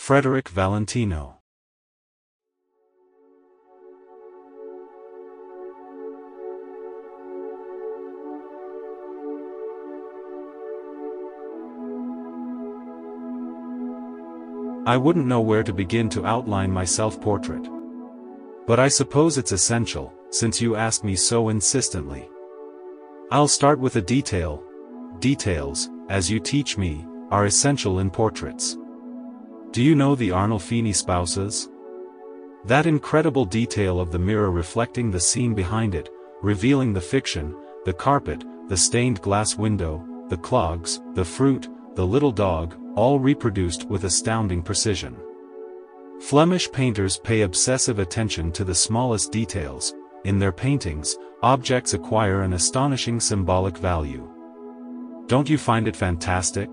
Frederick Valentino. I wouldn't know where to begin to outline my self-portrait. But I suppose it's essential, since you ask me so insistently. I'll start with a detail. Details, as you teach me, are essential in portraits. Do you know the Arnolfini spouses? That incredible detail of the mirror reflecting the scene behind it, revealing the fiction, the carpet, the stained glass window, the clogs, the fruit, the little dog, all reproduced with astounding precision. Flemish painters pay obsessive attention to the smallest details. In their paintings, objects acquire an astonishing symbolic value. Don't you find it fantastic?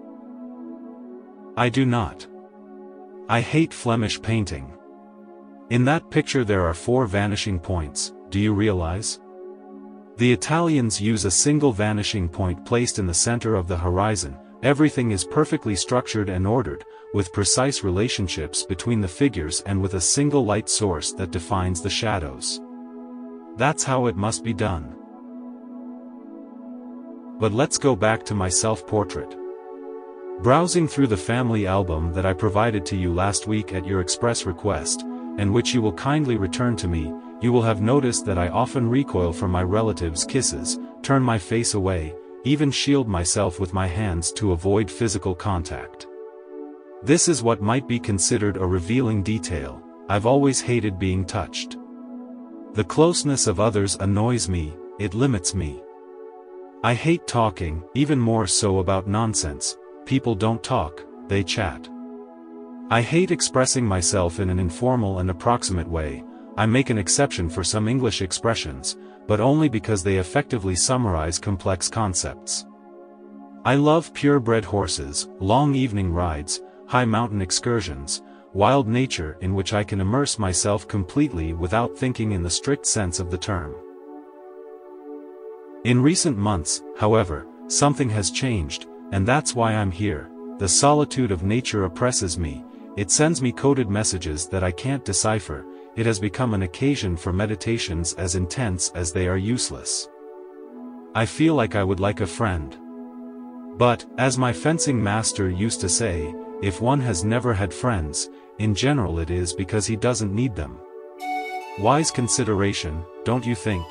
I do not. I hate Flemish painting. In that picture there are 4 vanishing points, do you realize? The Italians use a single vanishing point placed in the center of the horizon. Everything is perfectly structured and ordered, with precise relationships between the figures and with a single light source that defines the shadows. That's how it must be done. But let's go back to my self-portrait. Browsing through the family album that I provided to you last week at your express request, and which you will kindly return to me, you will have noticed that I often recoil from my relatives' kisses, turn my face away, even shield myself with my hands to avoid physical contact. This is what might be considered a revealing detail. I've always hated being touched. The closeness of others annoys me, it limits me. I hate talking, even more so about nonsense. People don't talk, they chat. I hate expressing myself in an informal and approximate way. I make an exception for some English expressions, but only because they effectively summarize complex concepts. I love purebred horses, long evening rides, high mountain excursions, wild nature in which I can immerse myself completely without thinking in the strict sense of the term. In recent months, however, something has changed, and that's why I'm here. The solitude of nature oppresses me. It sends me coded messages that I can't decipher. It has become an occasion for meditations as intense as they are useless. I feel like I would like a friend. But, as my fencing master used to say, if one has never had friends, in general it is because he doesn't need them. Wise consideration, don't you think?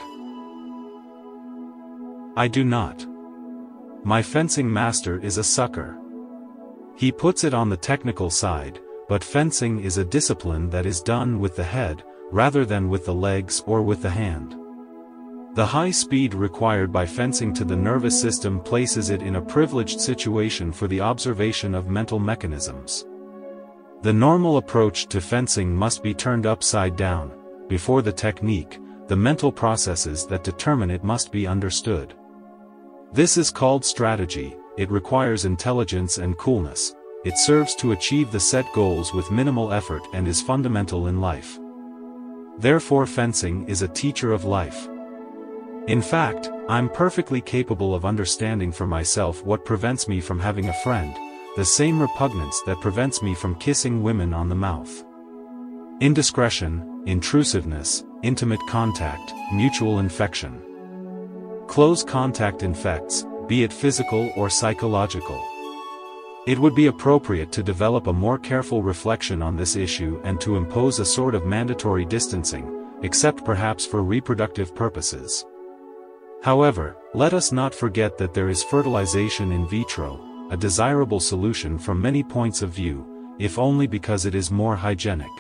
I do not. My fencing master is a sucker. He puts it on the technical side, but fencing is a discipline that is done with the head, rather than with the legs or with the hand. The high speed required by fencing to the nervous system places it in a privileged situation for the observation of mental mechanisms. The normal approach to fencing must be turned upside down. Before the technique, the mental processes that determine it must be understood. This is called strategy. It requires intelligence and coolness. It serves to achieve the set goals with minimal effort and is fundamental in life. Therefore, fencing is a teacher of life. In fact, I'm perfectly capable of understanding for myself what prevents me from having a friend, the same repugnance that prevents me from kissing women on the mouth. Indiscretion, intrusiveness, intimate contact, mutual infection. Close contact infects, be it physical or psychological. It would be appropriate to develop a more careful reflection on this issue and to impose a sort of mandatory distancing, except perhaps for reproductive purposes. However, let us not forget that there is fertilization in vitro, a desirable solution from many points of view, if only because it is more hygienic.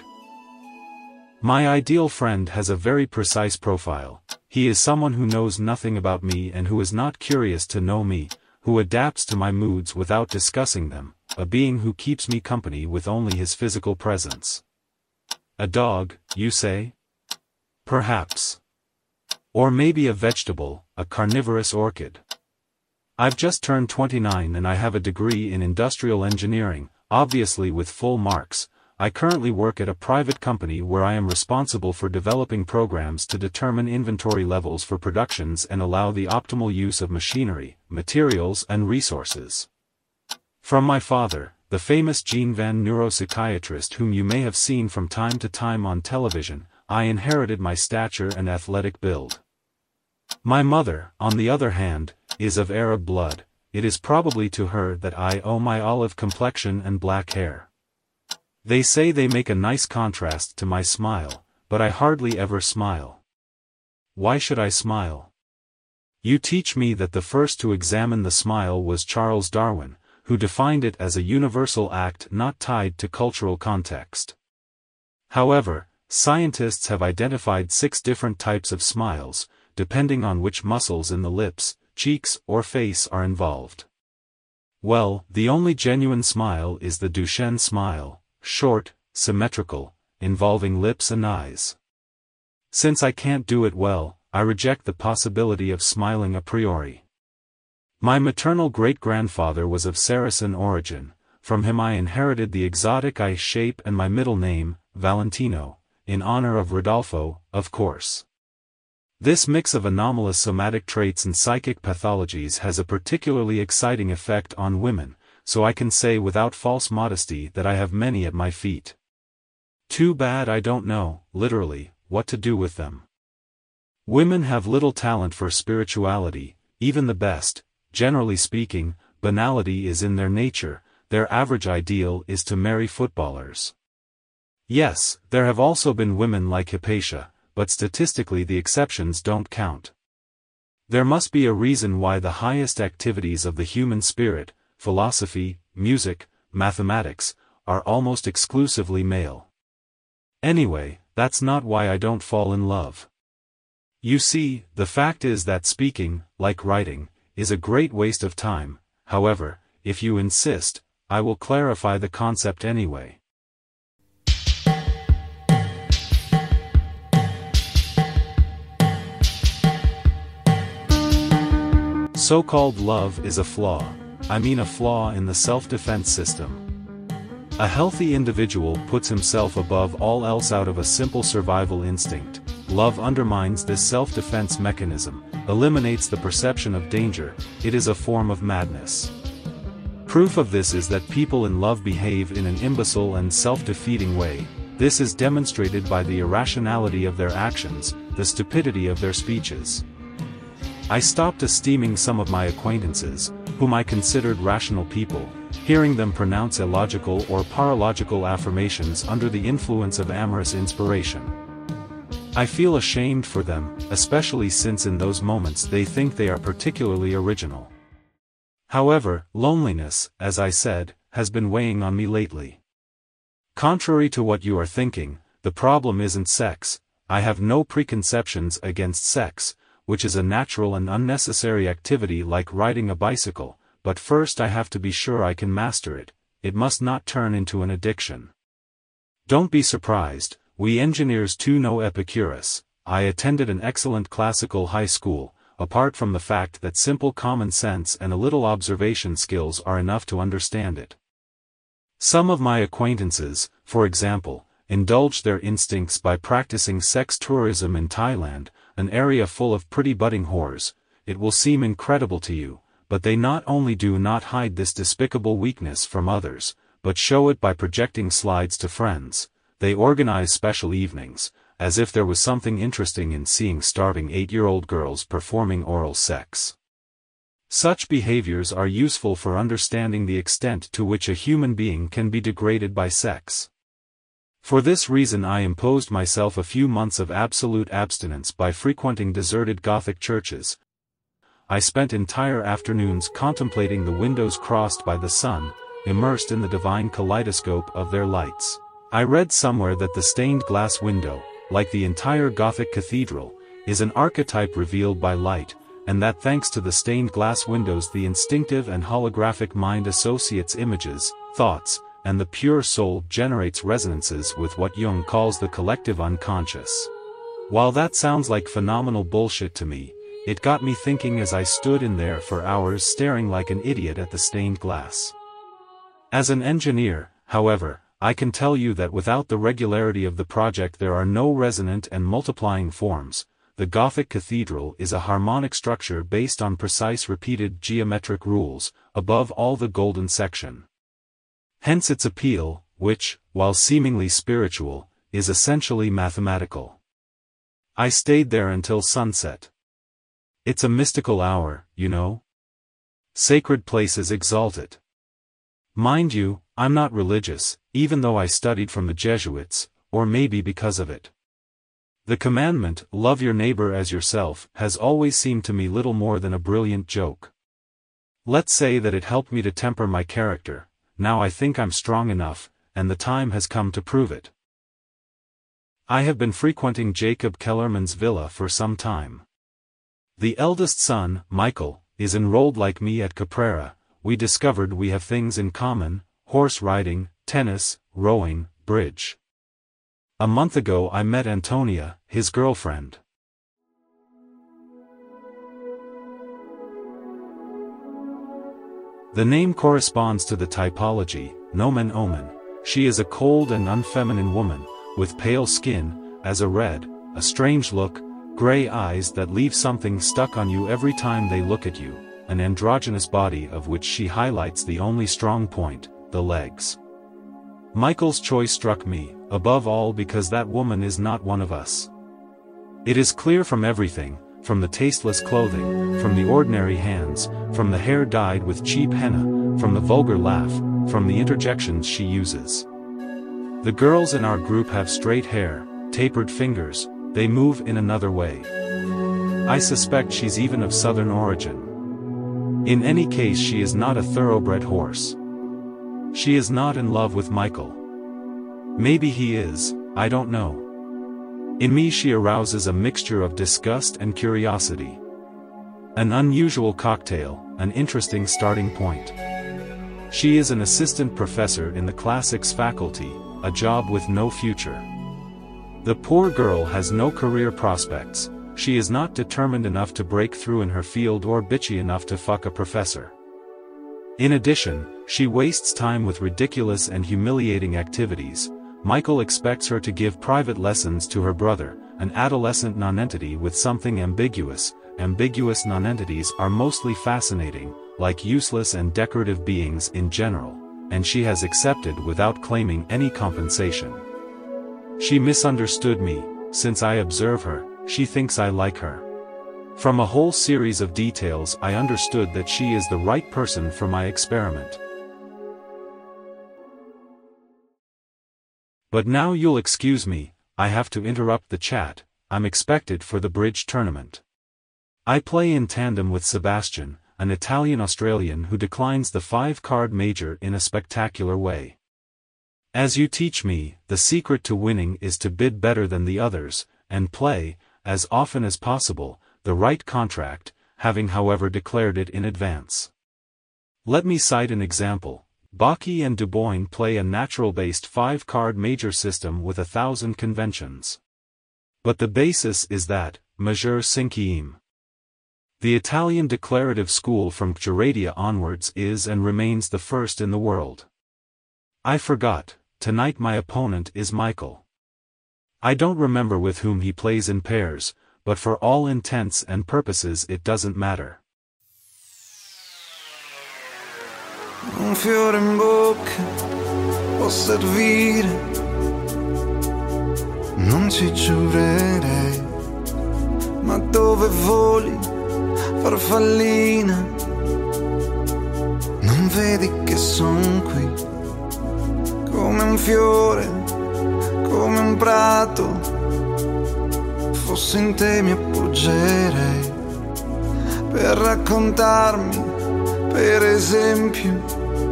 My ideal friend has a very precise profile. He is someone who knows nothing about me and who is not curious to know me, who adapts to my moods without discussing them, a being who keeps me company with only his physical presence. A dog, you say? Perhaps. Or maybe a vegetable, a carnivorous orchid. I've just turned 29 and I have a degree in industrial engineering, obviously with full marks. I currently work at a private company where I am responsible for developing programs to determine inventory levels for productions and allow the optimal use of machinery, materials and resources. From my father, the famous Jean Van neuropsychiatrist whom you may have seen from time to time on television, I inherited my stature and athletic build. My mother, on the other hand, is of Arab blood. It is probably to her that I owe my olive complexion and black hair. They say they make a nice contrast to my smile, but I hardly ever smile. Why should I smile? You teach me that the first to examine the smile was Charles Darwin, who defined it as a universal act not tied to cultural context. However, scientists have identified 6 different types of smiles, depending on which muscles in the lips, cheeks, or face are involved. Well, the only genuine smile is the Duchenne smile, short, symmetrical, involving lips and eyes. Since I can't do it well, I reject the possibility of smiling a priori. My maternal great-grandfather was of Saracen origin. From him I inherited the exotic eye shape and my middle name, Valentino, in honor of Rodolfo, of course. This mix of anomalous somatic traits and psychic pathologies has a particularly exciting effect on women, so I can say without false modesty that I have many at my feet. Too bad I don't know, literally, what to do with them. Women have little talent for spirituality, even the best. Generally speaking, banality is in their nature. Their average ideal is to marry footballers. Yes, there have also been women like Hypatia, but statistically the exceptions don't count. There must be a reason why the highest activities of the human spirit, philosophy, music, mathematics, are almost exclusively male. Anyway, that's not why I don't fall in love. You see, the fact is that speaking, like writing, is a great waste of time. However, if you insist, I will clarify the concept anyway. So-called love is a flaw. I mean a flaw in the self-defense system. A healthy individual puts himself above all else out of a simple survival instinct. Love undermines this self-defense mechanism, eliminates the perception of danger. It is a form of madness. Proof of this is that people in love behave in an imbecile and self-defeating way. This is demonstrated by the irrationality of their actions, the stupidity of their speeches. I stopped esteeming some of my acquaintances, whom I considered rational people, hearing them pronounce illogical or paralogical affirmations under the influence of amorous inspiration. I feel ashamed for them, especially since in those moments they think they are particularly original. However, loneliness, as I said, has been weighing on me lately. Contrary to what you are thinking, the problem isn't sex. I have no preconceptions against sex, which is a natural and unnecessary activity like riding a bicycle, but first I have to be sure I can master it. It must not turn into an addiction. Don't be surprised, we engineers too know Epicurus. I attended an excellent classical high school, apart from the fact that simple common sense and a little observation skills are enough to understand it. Some of my acquaintances, for example, indulge their instincts by practicing sex tourism in Thailand, an area full of pretty budding whores. It will seem incredible to you, but they not only do not hide this despicable weakness from others, but show it by projecting slides to friends. They organize special evenings, as if there was something interesting in seeing starving 8-year-old girls performing oral sex. Such behaviors are useful for understanding the extent to which a human being can be degraded by sex. For this reason I imposed myself a few months of absolute abstinence by frequenting deserted Gothic churches. I spent entire afternoons contemplating the windows crossed by the sun, immersed in the divine kaleidoscope of their lights. I read somewhere that the stained glass window, like the entire Gothic cathedral, is an archetype revealed by light, and that thanks to the stained glass windows the instinctive and holographic mind associates images, thoughts, and the pure soul generates resonances with what Jung calls the collective unconscious. While that sounds like phenomenal bullshit to me, it got me thinking as I stood in there for hours staring like an idiot at the stained glass. As an engineer, however, I can tell you that without the regularity of the project there are no resonant and multiplying forms. The Gothic cathedral is a harmonic structure based on precise repeated geometric rules, above all the golden section. Hence its appeal, which, while seemingly spiritual, is essentially mathematical. I stayed there until sunset. It's a mystical hour, you know? Sacred places exalt it. Mind you, I'm not religious, even though I studied from the Jesuits, or maybe because of it. The commandment, love your neighbor as yourself, has always seemed to me little more than a brilliant joke. Let's say that it helped me to temper my character. Now I think I'm strong enough, and the time has come to prove it. I have been frequenting Jacob Kellerman's villa for some time. The eldest son, Michael, is enrolled like me at Caprera. We discovered we have things in common: horse riding, tennis, rowing, bridge. A month ago I met Antonia, his girlfriend. The name corresponds to the typology, nomen omen. She is a cold and unfeminine woman, with pale skin, as a red, a strange look, gray eyes that leave something stuck on you every time they look at you, an androgynous body of which she highlights the only strong point, the legs. Michael's choice struck me, above all because that woman is not one of us. It is clear from everything, from the tasteless clothing, from the ordinary hands, from the hair dyed with cheap henna, from the vulgar laugh, from the interjections she uses. The girls in our group have straight hair, tapered fingers, they move in another way. I suspect she's even of southern origin. In any case, she is not a thoroughbred horse. She is not in love with Michael. Maybe he is, I don't know. In me she arouses a mixture of disgust and curiosity. An unusual cocktail, an interesting starting point. She is an assistant professor in the classics faculty, a job with no future. The poor girl has no career prospects. She is not determined enough to break through in her field or bitchy enough to fuck a professor. In addition, she wastes time with ridiculous and humiliating activities. Michael expects her to give private lessons to her brother, an adolescent nonentity with something ambiguous. Ambiguous nonentities are mostly fascinating, like useless and decorative beings in general, and she has accepted without claiming any compensation. She misunderstood me. Since I observe her, she thinks I like her. From a whole series of details I understood that she is the right person for my experiment. But now you'll excuse me, I have to interrupt the chat. I'm expected for the bridge tournament. I play in tandem with Sebastian, an Italian-Australian who declines the 5-card major in a spectacular way. As you teach me, the secret to winning is to bid better than the others, and play, as often as possible, the right contract, having however declared it in advance. Let me cite an example. Bacchi and Dubois play a natural-based 5-card major system with 1,000 conventions. But the basis is that, majeur cinquième. The Italian declarative school from Geradia onwards is and remains the first in the world. I forgot, tonight my opponent is Michael. I don't remember with whom he plays in pairs, but for all intents and purposes it doesn't matter. Un fiore in bocca può servire, non ci giurerei, ma dove voli, farfallina, non vedi che son qui, come un fiore, come un prato, fossi in te mi appoggerei, per raccontarmi, per esempio,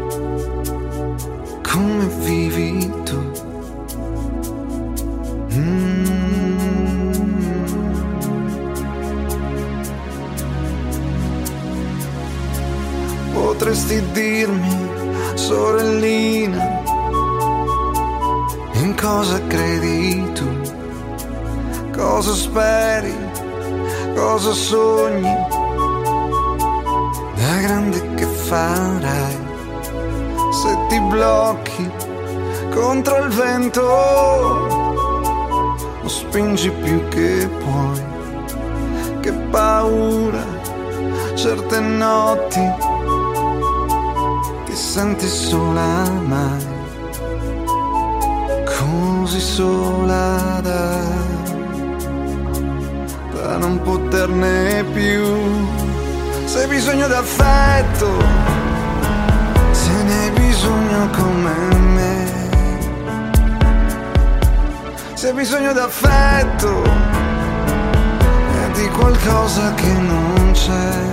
come vivi tu. Potresti dirmi, sorellina, in cosa credi tu, cosa speri, cosa sogni, da grande che farai, se ti blocchi contro il vento o spingi più che puoi, che paura certe notti che senti sola mai, così sola da non poterne più. Se hai bisogno d'affetto, se ne hai bisogno come me, se hai bisogno d'affetto e di qualcosa che non c'è.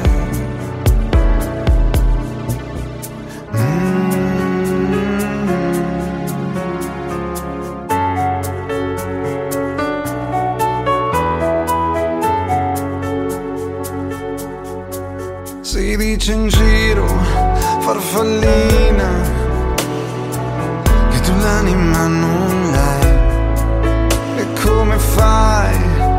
Si dice in giro, farfallina, che tu l'anima non l'hai. E come fai,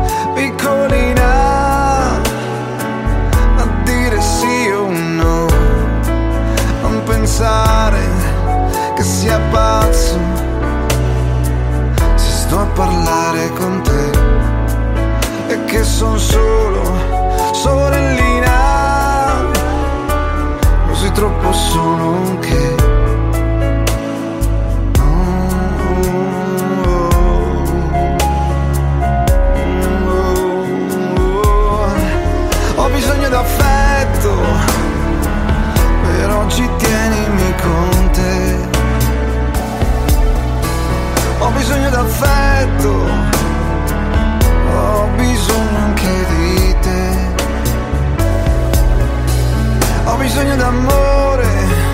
piccolina, a dire sì o no? Non pensare che sia pazzo se sto a parlare con te e che son solo sorellina, così troppo solo che ho bisogno d'affetto, per oggi tienimi con te. Ho bisogno d'affetto, ho bisogno anche di te. Ho bisogno d'amore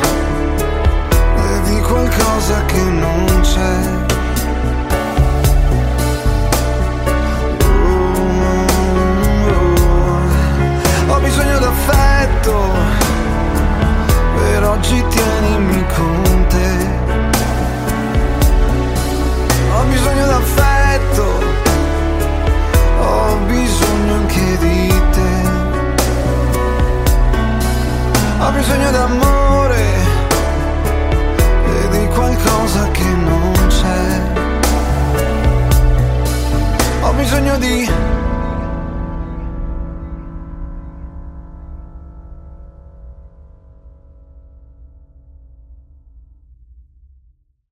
e di qualcosa che non c'è. Ho bisogno d'affetto, per oggi tienimi con te. Ho bisogno d'affetto, ho bisogno anche di te. Ho bisogno d'amore e di qualcosa che